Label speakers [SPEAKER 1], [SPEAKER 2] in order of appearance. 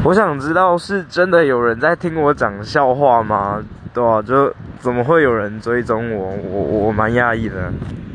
[SPEAKER 1] 我想知道是真的有人在聽我講笑話嗎？對啊，就怎麼會有人追蹤我？我蠻訝異的。